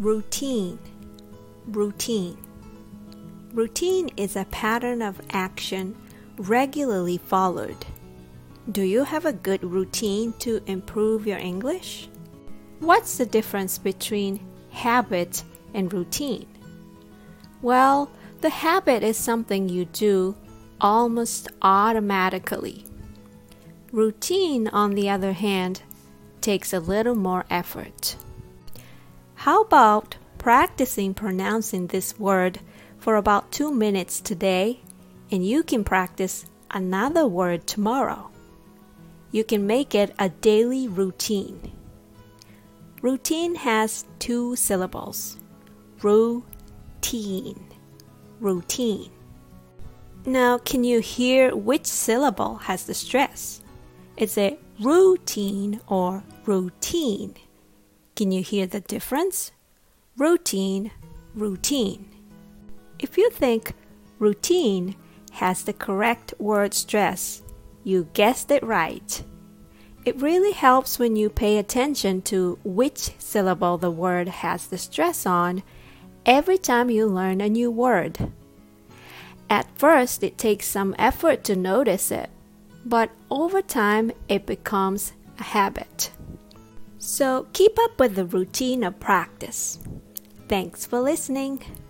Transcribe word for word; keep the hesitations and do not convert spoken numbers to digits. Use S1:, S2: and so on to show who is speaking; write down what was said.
S1: Routine. Routine. Routine is a pattern of action regularly followed. Do you have a good routine to improve your English? What's the difference between habit and routine? Well, the habit is something you do almost automatically. Routine, on the other hand, takes a little more effort. How about practicing pronouncing this word for about two minutes today, and you can practice another word tomorrow. You can make it a daily routine. Routine has two syllables. Routine. Routine. Now, can you hear which syllable has the stress? Is it routine or routine? Can you hear the difference? Routine, routine. If you think routine has the correct word stress, you guessed it right. It really helps when you pay attention to which syllable the word has the stress on every time you learn a new word. At first, it takes some effort to notice it, but over time, it becomes a habit. So keep up with the routine of practice. Thanks for listening.